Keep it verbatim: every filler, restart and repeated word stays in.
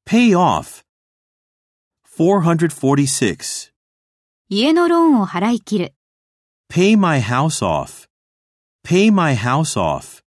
Pay off. four hundred forty-six. 家のローンを払い切る。 Pay my house off. Pay my house off.